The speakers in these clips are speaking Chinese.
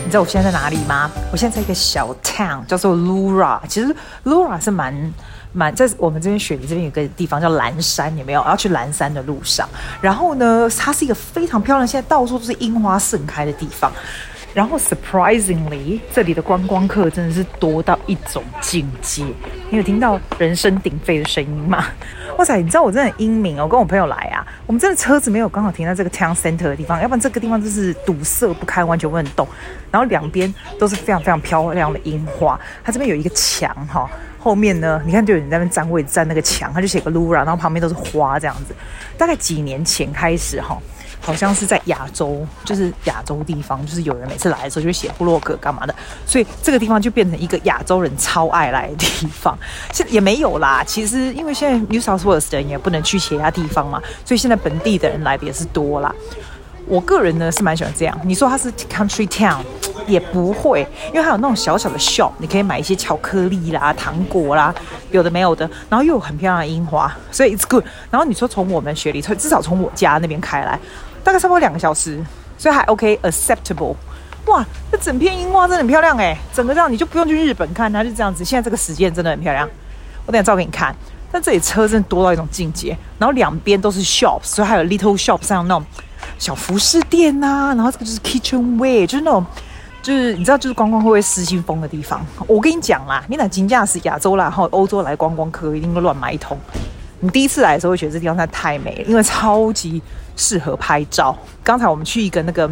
你知道我現在在哪裡嗎？我現在在一個小 town 叫做 Lura。其實 Lura 是蠻在我們這邊雪梨這邊有個地方叫藍山，有沒有？要去藍山的路上，然後呢，它是一個非常漂亮，現在到處都是櫻花盛開的地方。然後 surprisingly， 這裡的觀光客真的是多到一種境界。你有聽到人聲鼎沸的聲音嗎？哇塞，你知道我真的很英明哦！我跟我朋友來啊，我們真的車子沒有剛好停在這個 town center 的地方，要不然這個地方就是堵塞不堪，完全不能動。然後兩邊都是非常非常漂亮的櫻花，它這邊有一個牆哈，後面呢，你看就有人在那邊占位置，占那個牆，他就寫個 Lura， 然後旁邊都是花這樣子。大概幾年前開始哈。好像是在亞洲，就是亞洲地方，就是有人每次來的時候就會寫部落格幹嘛的，所以這個地方就變成一個亞洲人超愛來的地方。現在也沒有啦，其實因為現在 New South Wales 的人也不能去其他地方嘛，所以現在本地的人來的也是多啦。我個人呢是蠻喜歡這樣。你說它是 country town 也不會，因為它有那種小小的 shop， 你可以買一些巧克力啦、糖果啦，有的沒有的，然後又有很漂亮的櫻花，所以 it's good。然後你說從我們雪梨，至少從我家那邊開來。大概差不多2個小時，所以還 OK acceptable。哇，這整片櫻花真的很漂亮哎，整個這樣你就不用去日本看它，就這樣子。現在這個時間真的很漂亮，我等一下照給你看。但這裡車真的多到一種境界，然後兩邊都是 shops， 所以還有 little shops， 像那種小服飾店啊，然後這個就是 kitchenware， 就是那種就是你知道就是觀光會失心瘋的地方。我跟你講啦，你那金價是亞洲啦，然後歐洲來觀光客一定會亂買一通。你第一次來的時候會覺得這地方實在太美了，因為超級適合拍照。剛才我們去一個那個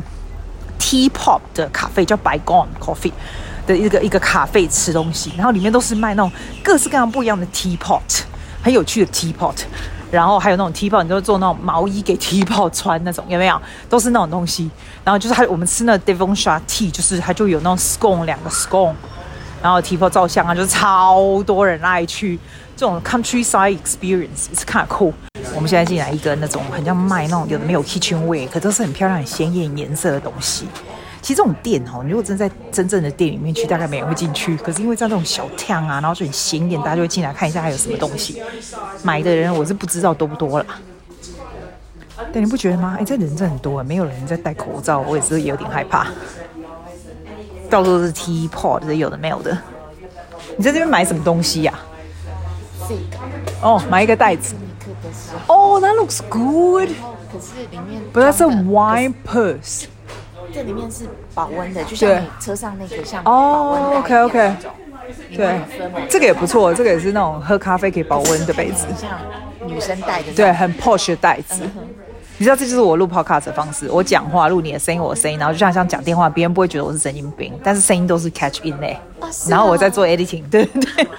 Teapot 的咖啡，叫 Bygone Coffee 的一個咖啡吃東西，然後裡面都是賣那種各式各樣不一樣的 Teapot， 很有趣的 Teapot， 然後還有那種 Teapot， 你就做那種毛衣給 Teapot 穿那种，有沒有？都是那種東西。然後就是我們吃那個 Devonshire Tea， 就是它就有那種 scone 2個 scone， 然後 Teapot 照相啊，就是超多人愛去。這種 countryside experience is kind of cool。我們現在進來一個那種很像賣那種有的沒有 kitchenware， 可都是很漂亮、很鮮豔顏色的東西。其實這種店哦，你如果真在真正的店裡面去，大概沒人會進去。可是因為在這種小巷啊，然後就很鮮豔，大家就會進來看一下還有什麼東西。買的人我是不知道多不多啦。但你不覺得嗎？這人真的很多，沒有人在戴口罩，我也是有點害怕。到處都是 teapot， 有的沒有的。你在這邊買什麼東西呀？哦，買一個袋子。哦、that looks good。 可是裡面 ，but that's a wine purse。 這裡面是保溫的，就像你車上那個像保溫袋一樣 ，OK。對，這個也不錯，這個也是那種喝咖啡可以保溫的杯子， 像女生帶的， 對，很 posh 的袋子。你知道，这就是我錄 podcast 的方式。我講話錄你的聲音，我的聲音，然後就像講電話，別人不會覺得我是神經病，但是聲音都是 catch in 嘞。然後我在做 editing， 對。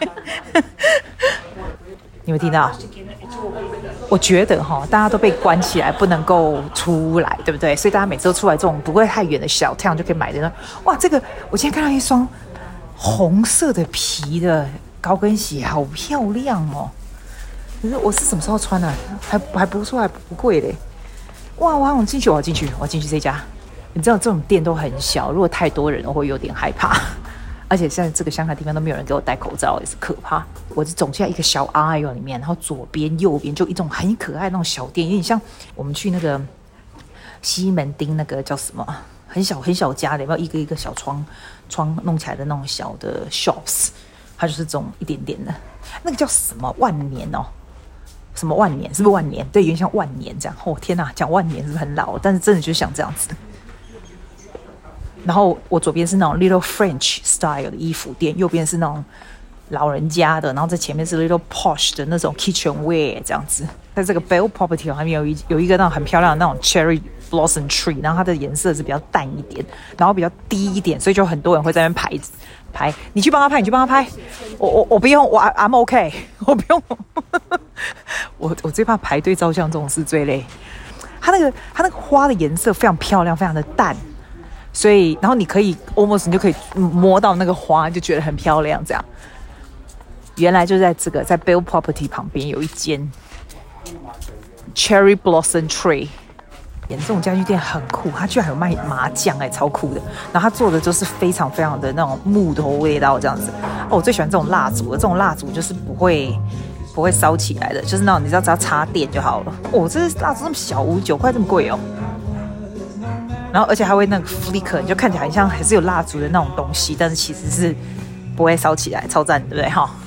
你有聽到？我覺得大家都被關起來，不能夠出來，對不對？所以大家每次都出來這種不會太遠的小巷就可以買的。哇，這個我今天看到一雙紅色的皮的高跟鞋，好漂亮哦！可是我是什麼時候穿的？還不錯，還不貴嘞。哇，我要進去，我要進去這家。你知道這種店都很小，如果太多人我會有點害怕。而且現在這個鄉下地方都沒有人給我戴口罩，也是可怕。我是走進來一個小 aisle 裡面，然後左邊右邊就一種很可愛的那種小店，有點像我們去那個西門町那個叫什麼很小家的，有沒有一個一個小窗弄起来的那種小的 shops， 它就是这種一點點的。那個叫什麼萬年哦？什麼萬年？是不是萬年？對，有點像萬年這樣。哦天哪，講萬年是不是很老？但是真的就是像這樣子。然後我左邊是那種 little French style 的衣服店，右邊是那種老人家的，然後在前面是 little posh 的那種 kitchenware 這樣子。在這個 Bell Property 旁邊有一個那種很漂亮的那種 cherry blossom tree， 然後它的顏色是比較淡一點，然後比較低一點，所以就很多人會在那邊拍。你去幫他拍，我不用，I'm OK， 我不用。我最怕排隊照相這種事最累。它那個花的顏色非常漂亮，非常的淡。所以，然後你可以 almost 你就可以摸到那個花，就覺得很漂亮。這樣，原來就在這個在 Bell Property 旁邊有一間 Cherry Blossom Tree。這種家具店很酷，它居然還有賣麻將，超酷的。然後它做的就是非常非常的那种木頭味道這樣子。我最喜歡這種蠟燭了，這種蠟燭就是不會燒起來的，就是那種你知道只要插電就好了。這蠟燭這麼小，59塊這麼貴哦。 然後而且還會那個 flicker， 你就看起来很像還是有蠟燭的那種東西，但是其實是不會燒起來，超讚，對不對哈？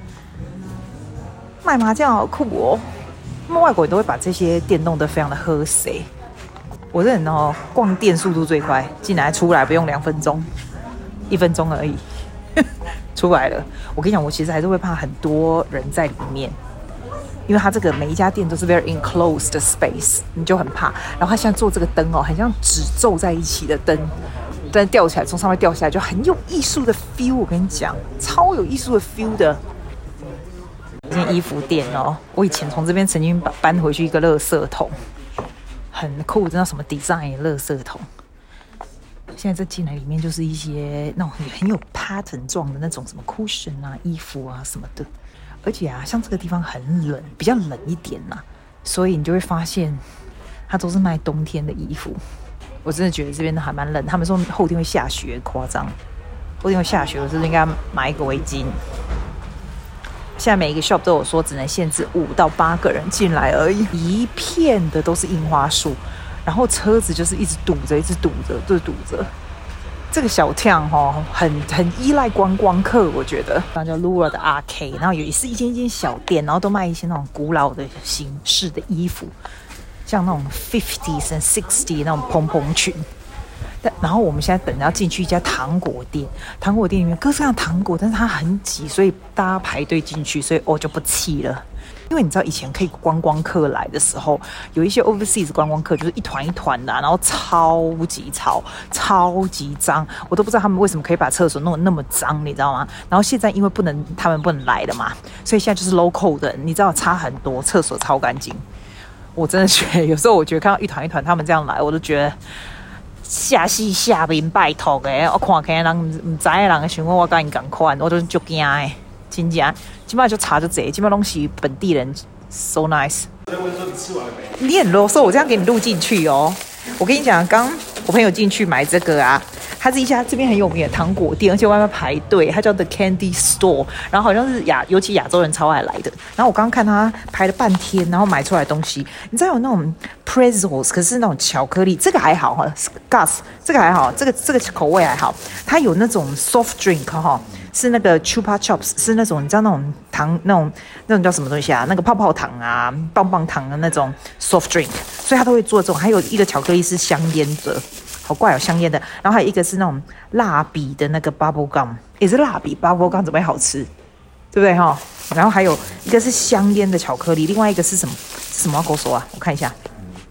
賣麻將好酷哦！他們外國人都會把這些店弄得非常的和諧。我這人哦，逛店速度最快，進來出來不用2分鐘，1分鐘而已，出來了。我跟你講，我其實還是會怕很多人在裡面。因為它這個每一家店都是 very enclosed space， 你就很怕。然後它現在做這個燈哦，很像紙皺在一起的燈，但掉起來從上面掉下來就很有藝術的 feel。我跟你講，超有藝術的 feel 的。這間衣服店哦，我以前從這邊曾經搬回去一個垃圾桶，很酷，知道什麼 design 的垃圾桶。現在這進來裡面就是一些那種很有 pattern 狀的那種什麼 cushion 啊、衣服啊什麼的。而且啊，像這個地方很冷，比較冷一點啦，所以你就會發現，它都是賣冬天的衣服。我真的覺得這邊還蠻冷，他們說後天會下雪，誇張。後天會下雪，我是不是應該買一個圍巾？現在每一個 shop 都有說只能限制5到8個人進來而已，一片的都是櫻花樹，然後車子就是一直堵着，就是堵着。這個小巷哦，很依賴觀光客，我覺得。然後叫 Lura 的 Arcade， 然後也是一間小店，然後都賣一些那種古老的形式的衣服，像那種 50s and 60s 那種蓬蓬裙。然後我們現在等着要進去一家糖果店，糖果店裡面各式各樣的糖果，但是它很擠，所以大家排隊進去，所以我就不氣了。因為你知道以前可以觀光客來的時候，有一些 overseas 觀光客就是一團一团的，然後超級吵、超級髒，我都不知道他们為什麼可以把廁所弄得那麼髒，你知道嗎？然後現在因為他們不能來了嘛，所以現在就是 local 的，你知道差很多，廁所超乾淨。我真的覺得有時候我覺得看到一團一团他們這樣來，我都覺得下戲下面拜託的，我看起來人不知道的人想我跟你同款，我都很驚的。真正基本上就差就這，基本上都是本地人 ，so nice。你很囉嗦，我這樣給你錄進去哦。我跟你講，剛我朋友進去買這個啊，它是一家這邊很有名的糖果店，而且外面排隊，它叫 The Candy Store， 然後好像是尤其亞洲人超愛來的。然後我剛剛看他排了半天，然後買出來的東西，你知道有那種 pretzels， 可是那種巧克力，這個還好哈 ，Gus 這個還好，這個口味還好。它有那種 soft drink 哈。是那個 Chupa Chups， 是那種你知道那種糖那種叫什麼東西啊？那個泡泡糖啊、棒棒糖的那種 soft drink， 所以他都會做這種。還有一個巧克力是香煙的，好怪哦，香煙的。然後還有一個是那種蠟筆的那個 bubble gum， 也是蠟筆 bubble gum 怎麼會好吃？對不對哈？然後還有一個是香煙的巧克力，另外一個是什麼？是什麼？跟我說啊，我看一下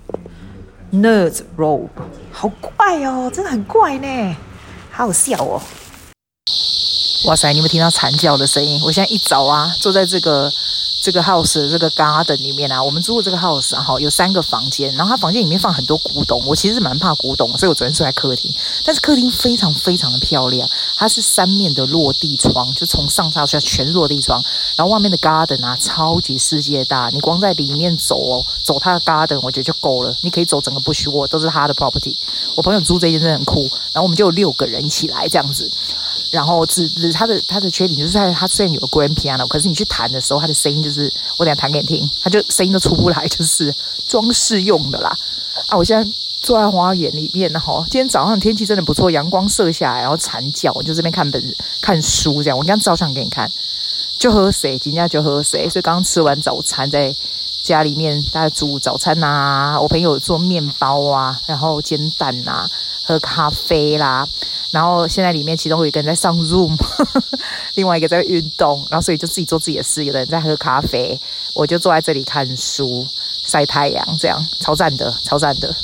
，Nerds Rope， 好怪哦，真的很怪呢，好好笑哦。哇塞！你有沒有聽到慘叫的聲音？我現在一早啊，坐在這個 house 的這個 garden 裡面啊，我們住的這個 house 啊，有3個房間，然後它房間裡面放很多古董。我其實是蠻怕古董，所以我昨天睡在客廳。但是客廳非常非常的漂亮，它是3面的落地窗，就從上到下全是落地窗。然後外面的 garden 啊，超級世界大，你光在裡面走走它的 garden， 我覺得就夠了。你可以走整個 Bushwood， 都是他的 property。我朋友租這間真的很酷，然後我們就有6個人一起來這樣子。然後他的缺點就是他雖然有個 grand piano， 可是你去彈的時候，他的聲音就是我等一下彈給你聽，他就聲音都出不來，就是裝飾用的啦。啊，我現在坐在花園裡面，然後今天早上天氣真的不錯，陽光射下來，然後慘叫，我就這邊看書這樣。我剛剛照相給你看，就喝水，今天就喝水。所以剛剛吃完早餐，在家裡面大家煮早餐啊，我朋友做麵包啊，然後煎蛋啊，喝咖啡啦。然後現在裡面其中有一個人在上 Zoom， 另外一個在運動，然後所以就自己做自己的事。有的人在喝咖啡，我就坐在這裡看書、曬太陽，這樣超讚的，超讚的。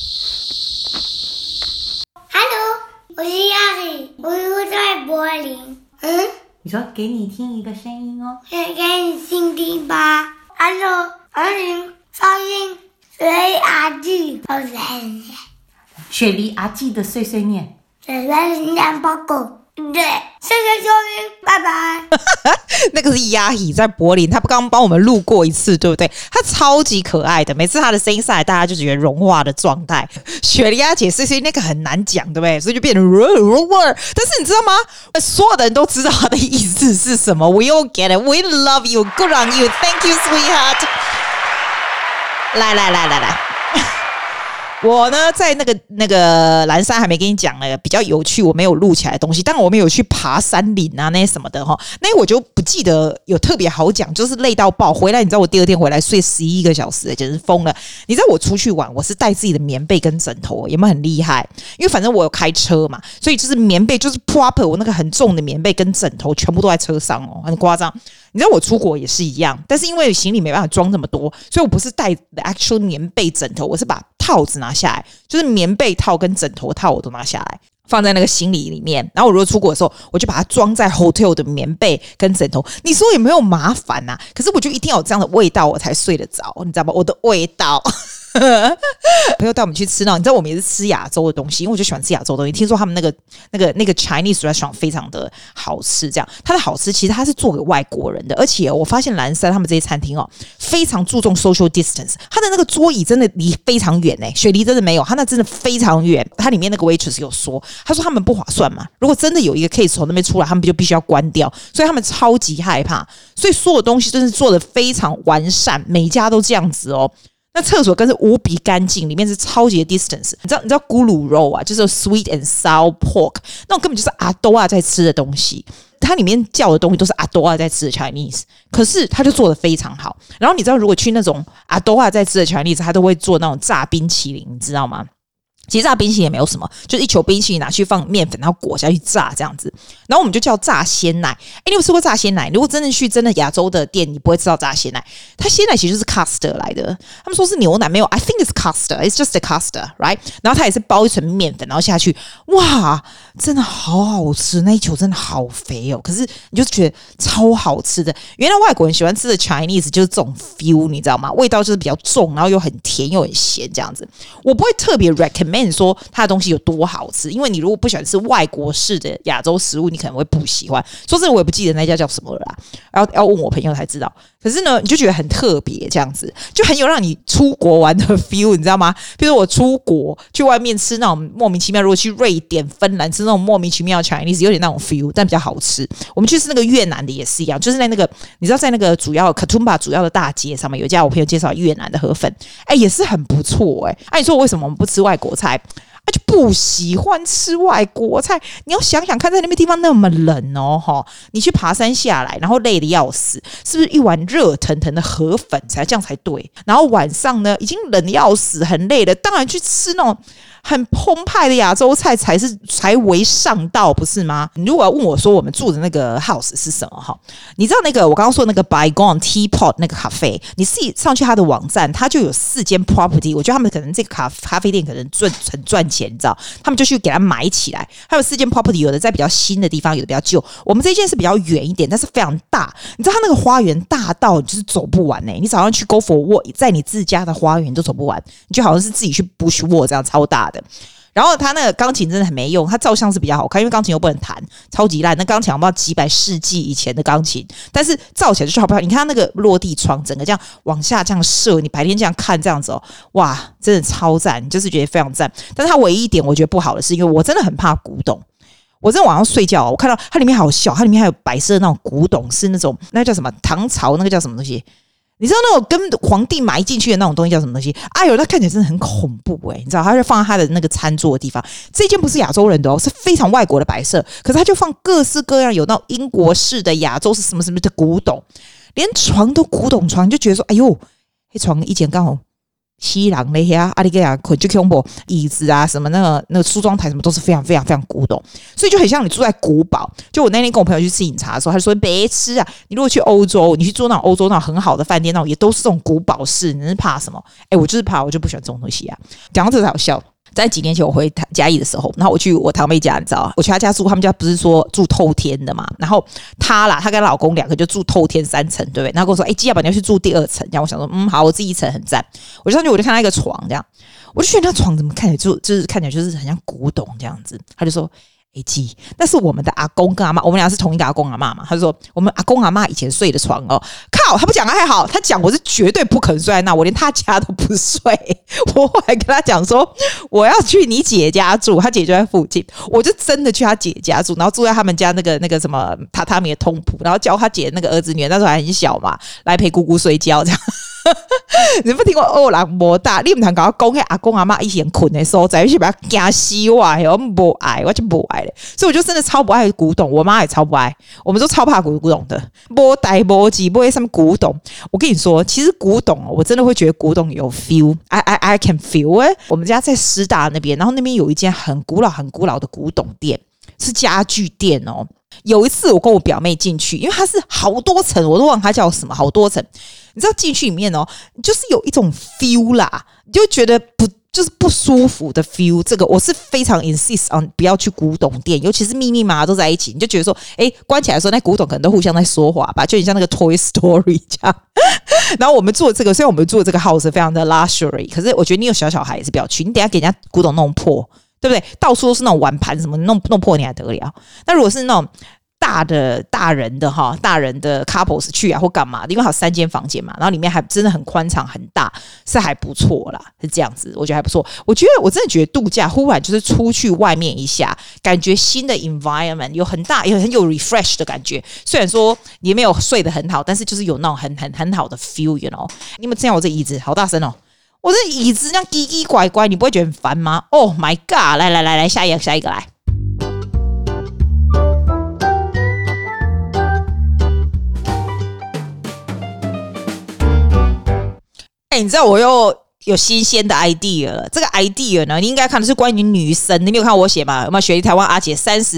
Hello， 我是亞里，我住在柏林。 你說給你聽一個聲音哦， 給你聽吧。Hello， 20上映水阿記的碎念， 雪梨阿記的碎碎念。 水灵量報告，對，謝謝收聽，拜拜。 那個是亞里在柏林，他剛剛幫我們錄過一次，對不對？他超級可愛的，每次他的聲音上來，大家就覺得融化的狀態。雪梨阿姐碎碎那個很難講，對不對？所以就變成但是你知道嗎？所有的人都知道他的意思是什麼。We all get it. We love you. Good on you. Thank you, sweetheart. 來。 我呢，在那個藍山還沒跟你講呢，比較有趣，我沒有錄起來的東西。當然我們有去爬山嶺啊，那些什麼的哈，那我就不記得有特別好講，就是累到爆。回來你知道我第二天回來睡11個小時，簡直瘋了。你知道我出去玩，我是帶自己的棉被跟枕頭，有沒有很厲害？因為反正我有開車嘛，所以就是棉被就是 proper， 我那個很重的棉被跟枕頭全部都在車上哦，很誇張。你知道我出國也是一樣，但是因為行李沒辦法裝這麼多，所以我不是帶 actual 棉被枕頭，我是把套子拿下來，就是棉被套跟枕頭套我都拿下來，放在那個行李裡面。然後我如果出国的時候，我就把它裝在 hotel 的棉被跟枕頭。你說有沒有麻煩啊？可是我就一定要有這樣的味道，我才睡得着，你知道吧？我的味道。朋友帶我們去吃那，你知道我們也是吃亞洲的東西，因為我就喜歡吃亞洲的東西。聽說他們那個 Chinese restaurant 非常的好吃，這樣它的好吃其實它是做給外國人的，而且我發現藍山他們這些餐廳非常注重 social distance， 它的那個桌椅真的離非常遠雪梨真的沒有，它那真的非常遠。它裡面那個 waitress 有說，他說他們不划算嘛，如果真的有一個 case 從那邊出來，他們就必須要關掉，所以他們超級害怕，所以所有東西真是做得非常完善，每一家都這樣子哦。那廁所更是無比乾淨，裡面是超級的 distance。你知道咕嚕肉啊，就是 sweet and sour pork， 那種根本就是阿多亞在吃的東西。它裡面叫的東西都是阿多亞在吃的 Chinese， 可是它就做得非常好。然後你知道，如果去那種阿多亞在吃的 Chinese， 它都會做那種炸冰淇淋，你知道嗎？其實炸冰淇淋也沒有什麼，就是一球冰淇淋拿去放麵粉，然後裹下去炸這樣子。然後我們就叫炸鮮奶。你有吃過炸鮮奶？如果真的去亞洲的店，你不會吃到炸鮮奶。它鮮奶其實就是 custard 來的，他們說是牛奶，沒有 ，I think it's custard, it's just a custard, right？ 然後它也是包一層麵粉，然後下去，哇，真的好好吃，那一球真的好肥哦。可是你就覺得超好吃的。原來外國人喜歡吃的 Chinese 就是這種 feel， 你知道嗎？味道就是比較重，然後又很甜又很鹹這樣子。我不會特別 recommend。說它的東西有多好吃，因為你如果不喜歡吃外國式的亞洲食物，你可能會不喜歡。說真的，我也不記得那家叫什麼了啦，要問我朋友才知道。可是呢，你就覺得很特別，這樣子就很有讓你出國玩的 feel， 你知道嗎？比如我出國去外面吃那種莫名其妙，如果去瑞典、芬蘭吃那種莫名其妙的 Chinese， 有點那種 feel， 但比較好吃。我們去吃那個越南的也是一樣，就是在那個你知道，在那個主要 Katoomba 主要的大街上面有一家我朋友介紹越南的河粉，也是很不錯你說我為什麼我們不吃外國菜？就不喜歡吃外國菜。你要想想看，在那邊地方那麼冷哦，你去爬山下來，然後累得要死，是不是一碗熱騰騰的河粉才這樣才對？然後晚上呢，已經冷得要死，很累了，當然去吃那種很澎湃的亞洲菜才為上道，不是嗎？你如果要問我說我們住的那個 house 是什麼你知道那個我剛剛說的那個 Bygone Teapot 那個咖啡，你自己上去他的網站，他就有4間 property， 我覺得他們可能這個咖啡店可能很賺錢，你知道，他們就去給他買起來。還有4間 property， 有的在比較新的地方，有的比較舊。我們這間是比較遠一點，但是非常大。你知道他那個花園大到你就是走不完你早上去 go for walk， 在你自家的花園都走不完，你就好像是自己去 bush walk 這樣超大的。然後他那個鋼琴真的很沒用，他照相是比較好看，因為鋼琴又不能彈，超級爛。那鋼琴我不知道幾百世紀以前的鋼琴，但是照起來就是好不好？你看他那個落地窗，整個這樣往下這樣射，你白天這樣看這樣子哇，真的超讚，你就是覺得非常讚。但是他唯一一點我覺得不好的是，因為我真的很怕古董。我在晚上睡覺我看到它裡面好小，它裡面還有白色的那種古董，是那種那叫什麼唐朝那個叫什麼東西？你知道那種跟皇帝埋進去的那種東西叫什麼東西？哎呦，它看起来真的很恐怖你知道，它就放在他的那個餐桌的地方。這間不是亞洲人的是非常外國的摆設，可是他就放各式各樣有那種英國式的、亞洲是什麼什麼的古董，連床都古董床，你就覺得說，哎呦，這床以前剛好西洋那些阿里個呀，就恐怖椅子啊，什麼那個梳妝台什麼都是非常非常非常古董，所以就很像你住在古堡。就我那天跟我朋友去吃飲茶的時候，他就說別吃啊，你如果去歐洲，你去住那種歐洲那種很好的飯店，那種也都是這種古堡式，你是怕什麼？我就是怕，我就不喜歡這種東西啊。講到這才好笑。在幾年前我回嘉義的時候，然後我去我堂妹家，你知道我去她家住，他們家不是說住透天的嘛，然後她跟老公2個就住透天3層，對不對？然後跟我說基亞寶你要去住第2層，然後我想說好，我自己1層很讚。我就上去我就看到一個床這樣，我就覺得那床怎麼看起來就是看起来就是很像古董這樣子。他就說基，那是我們的阿公跟阿嬤，我們倆是同一個阿公阿嬤嘛。他就說我們阿公阿嬤以前睡的床靠，他不講還好，他講我是絕對不肯睡在那，我連他家都不睡。我後來跟他講說我要去你姐家住，他姐就在附近，我就真的去他姐家住，然後住在他們家那個什麼榻榻米的通鋪，然後教他姐那個兒子女兒那時候還很小嘛，來陪姑姑睡覺這樣。 你有沒有聽過歐郎魔大？你唔通跟我講，阿公阿媽以前困的時候，在一起把他驚死我，我不愛，我就不愛嘞。所以我就真的超不愛古董，我媽也超不愛，我們都超怕古董的，沒帶沒記，不會什麼古董。我跟你說，其實古董，我真的會覺得古董有 feel，I can feel it。我們家在師大那邊，然後那邊有一間很古老的古董店，是家具店哦。有一次我跟我表妹進去，因為它是好多層，我都忘了它叫什麼，好多层。你知道進去裡面哦，就是有一種 feel 啦，你就覺得就是不舒服的 feel。這個我是非常 insist on 不要去古董店，尤其是密密麻麻都在一起，你就覺得說，關起來的時候那古董可能都互相在說話吧，就很像那個 Toy Story 這樣。然後我們做這個，雖然我們做這個 house 非常的 luxury， 可是我覺得你有小孩也是不要去，你等一下給人家古董弄破。對不对？到處都是那種碗盤什麼弄破你還得了？那如果是那種大人的 couples 去啊或幹嘛的，因為還有3間房間嘛，然後裡面還真的很寬敞很大，是還不錯啦，是這樣子，我覺得還不錯。我真的覺得度假忽然就是出去外面一下，感覺新的 environment 有很大，很有 refresh 的感覺。雖然說你沒有睡得很好，但是就是有那種很好的 feel，you know？ 你們知道我這椅子好大聲哦。我這椅子這樣奇奇怪怪，你不會覺得很煩嗎 ？Oh my god！ 來，下一個來。你知道我又有新鮮的 idea 了。這個 idea 呢，你應該看的是關於女神，你沒有看我寫嗎？有沒有學台灣阿姐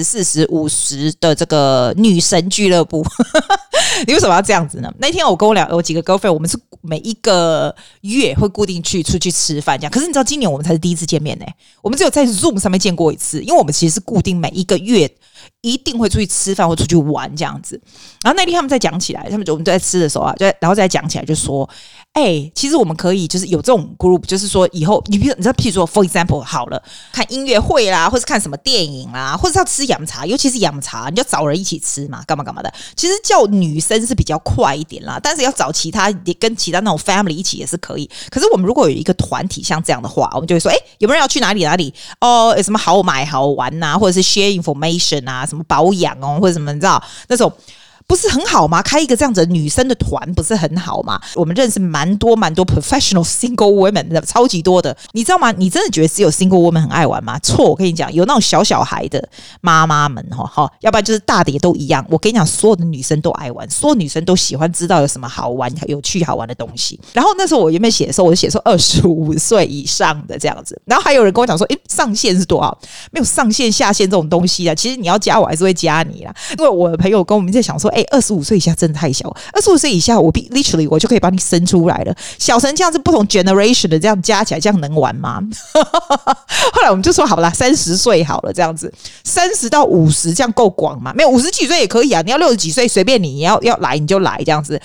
30、40、50的這個女神俱樂部？你為什麼要這樣子呢？那天我跟我幾個 girlfriend， 我們是每一個月會固定出去吃飯這樣。可是你知道今年我們才是第一次見面呢，我們只有在 Zoom 上面見過一次，因為我們其實是固定每一個月一定會出去吃飯或出去玩這樣子。然後那天他們在講起來，我們在吃的時候啊，然後再講起來就說，其實我们可以就是有這種 group， 就是說以後你知道，譬如說 for example 好了，看音樂會啦，或是看什麼電影啦，或是要吃洋茶，尤其是洋茶，你就找人一起吃嘛，幹嘛的。其實叫女生是比較快一點啦，但是要找跟其他那種 family 一起也是可以。可是我們如果有一個團體像這樣的話，我們就會說，有沒有人要去哪裡哦，有什麼好買好玩吶，或者是 share information 啊，什麼保養哦，或者什麼你知道那種。不是很好嗎？開一個這樣子的女生的團不是很好嗎？我們認識蠻多 professional single women， 超級多的，你知道嗎？你真的覺得只有 single women 很愛玩嗎？錯，我跟你講，有那種小孩的媽媽們要不然就是大的也都一樣。我跟你講，所有的女生都愛玩，所有女生都喜歡知道有什麼好玩、有趣、好玩的東西。然後那時候我原本寫的時候，我就寫說25歲以上的這樣子。然後還有人跟我講說，上限是多少？沒有上限下限這種東西啊。其實你要加我還是會加你啦，因為我的朋友跟我們在想說，25歲以下真的太小，25歲以下我 literally 我就可以把你生出來了，小成這樣子不同 generation 的這樣加起來，這樣能玩嗎？後來我們就說好啦，30歲好了，這樣子30到50這樣夠廣嗎？沒有50幾歲也可以啊，你要60幾歲隨便你要來你就來這樣子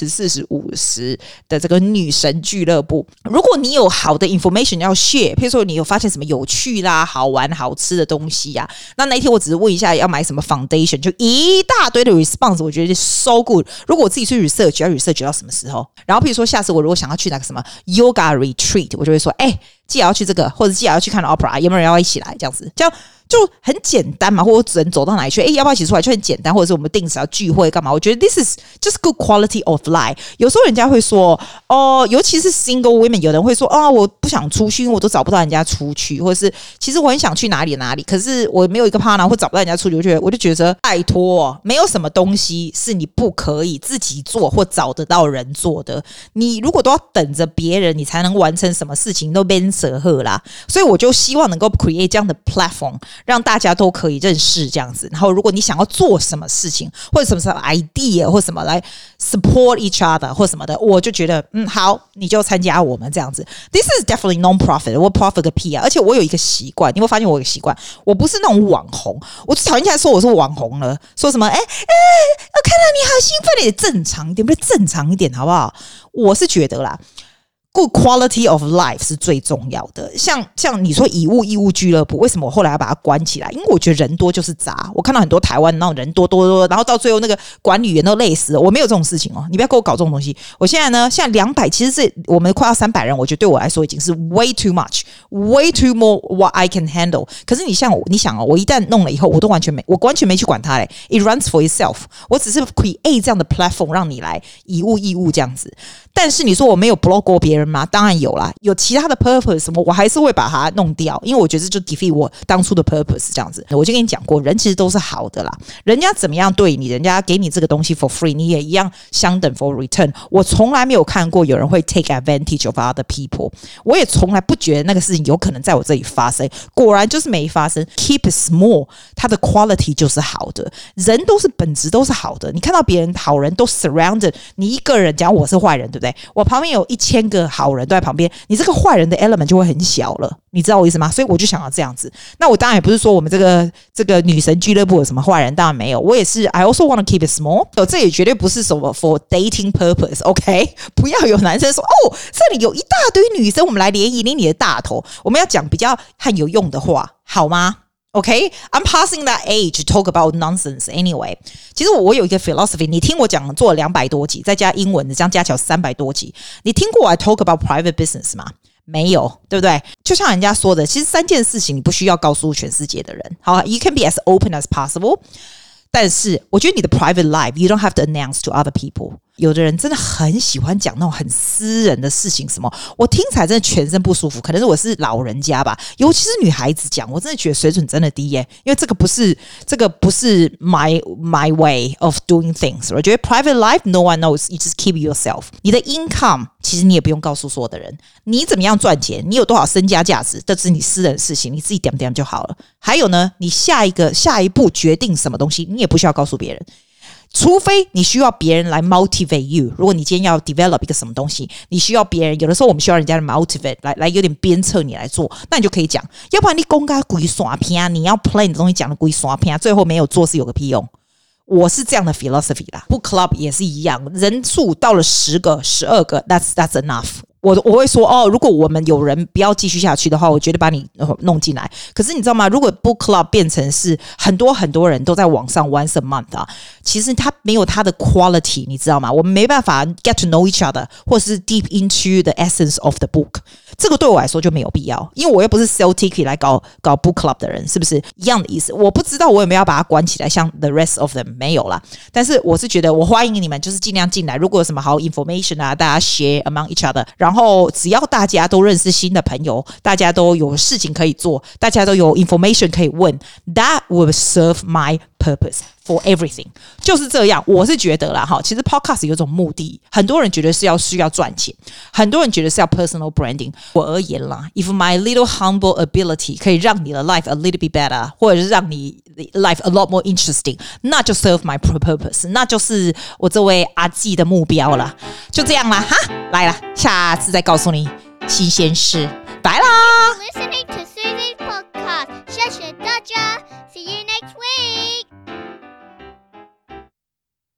，30、40、50的這個女神俱樂部。如果你有好的 information 要 share， 譬如說你有發現什麼有趣啦、好玩、好吃的東西啊，那一天我只是問一下要買什麼 foundation， 就一大堆的 response， 我覺得so good。如果我自己去 research， 要 research 到什麼時候？然後譬如說下次我如果想要去那個什麼 yoga retreat， 我就會說，既然要去這個，或者既然要去看 opera， 有沒有人要一起來？這樣子，這樣就很簡單嘛。或者我只能走到哪裡去，要不要一起出來？就很簡單。或者是我們定時要聚會幹嘛？我覺得 this is just good quality of life。有時候人家會說，尤其是 single women， 有人會說，我不想出去，因為我都找不到人家出去，或者是其實我很想去哪裡，可是我沒有一個 partner， 或找不到人家出去，我就覺得拜託，沒有什麼東西是你不可以自己做或找得到人做的。你如果都要等着別人，你才能完成什麼事情，都變捨賀啦。所以我就希望能夠 create 這樣的 platform， 讓大家都可以認識這樣子。然後如果你想要做什麼事情，或者什麼 idea 或什麼來 support each other 或什麼的，我就覺得好，你就參加我們這樣子。This is definitely non-profit， 我 profit 個屁啊！而且我有一個習慣，你會發現我有一個習慣，我不是那種網紅，我最討厭人家說我是網紅了，說什麼我看到你好興奮，也正常一點，不是正常一點好不好？我是覺得啦。 Good quality of life 是最重要的。像你說以物易物俱樂部，為什麼我後來要把它關起来？因為我覺得人多就是雜。我看到很多台灣那種人多，然後到最後那個管理員都累死了。我沒有這種事情哦，你不要給我搞這種東西。我現在呢，現在200，其實是我們快要300人，我覺得對我來說已經是 way too much, way too more what I can handle。可是你想哦，我一旦弄了以後，我完全沒去管它嘞。It runs for itself。我只是 create 這樣的 platform 讓你來以物易物這樣子。但是你說我沒有 block 過別人嗎？當然有啦，有其他的 purpose 什麼，我還是會把它弄掉，因為我覺得這就 defeat 我當初的 purpose 這樣子。我就跟你講過，人其實都是好的啦，人家怎麼樣對你，人家給你這個東西 for free， 你也一樣相等 for return。我從來沒有看過有人會 take advantage of other people， 我也從來不覺得那個事情有可能在我這裡發生，果然就是沒發生。Keep it small， 它的 quality 就是好的，人都是本質都是好的。你看到別人好人都 surrounded 你一個人，講我是壞人，對不對？我旁邊有1000個好人都在旁邊，你這個壞人的 element 就會很小了，你知道我意思嗎？所以我就想要這樣子。那我当然也不是說我們這個女神俱樂部有什麼壞人，當然沒有。我也是 I also want to keep it small。这也絕對不是什麼 for dating purpose，OK？ 不要有男生說哦，這裡有一大堆女生，我們來聯誼，捏你的大頭。我們要講比較很有用的話，好嗎？Okay, I'm passing that age to talk about nonsense anyway. 其實我有一個 philosophy， 你聽我講做了200多集，再加英文的，這樣加起來300多集。你聽過我 talk about private business 嗎？沒有，對不對？就像人家說的，其實3件事情你不需要告訴全世界的人。好 ，You can be as open as possible。但是我觉得你的 private life you don't have to announce to other people。有的人真的很喜歡講那種很私人的事情，什麼我聽起來真的全身不舒服。可能是我是老人家吧，尤其是女孩子講，我真的覺得水準真的低耶。因為這個不是 my way of doing things。我覺得 private life no one knows, you just keep yourself。你的 income 其實你也不用告訴所有的人，你怎麼樣賺錢，你有多少身家價值，這是你私人的事情，你自己點點就好了。還有呢，你下一步決定什麼東西，你也不需要告訴別人。除非你需要別人來 motivate you， 如果你今天要 develop 一個什麼東西，你需要別人，有的時候我們需要人家的 motivate 來有點鞭策你來做，那你就可以講。要不然你公開鬼耍片，你要 plan 的東西講的鬼耍片，最後沒有做是有個屁用。我是這樣的 philosophy 啦。Book club 也是一樣，人數到了10個、12個 that's enough。我會說哦，如果我們有人不要繼續下去的話，我絕對把你弄進來。可是你知道嗎？如果 book club 變成是很多人都在網上 once a month 啊，其實它沒有它的 quality， 你知道嗎？我們沒辦法 get to know each other， 或是 deep into the essence of the book。這個對我來說就沒有必要，因為我又不是 sell ticket 來搞 book club 的人，是不是一樣的意思？我不知道我有沒有要把它關起來，像 the rest of them 沒有啦。但是我是覺得我歡迎你們，就是盡量進來。如果有什麼好 information 啊，大家 share among each other。然後只要大家都認識新的朋友，大家都有事情可以做，大家都有 information 可以問 ，that will serve my purpose for everything。就是這樣，我是覺得啦哈。其實 podcast 有種目的，很多人覺得是需要賺錢，很多人覺得是要 personal branding。我而言啦 ，if my little humble ability 可以讓你的 life a little bit better， 或者是讓你 life a lot more interesting， 那就 serve my purpose， 那就是我這位阿紀的目標了。就這樣啦哈，來啦，下次再告訴你新鮮事，拜啦。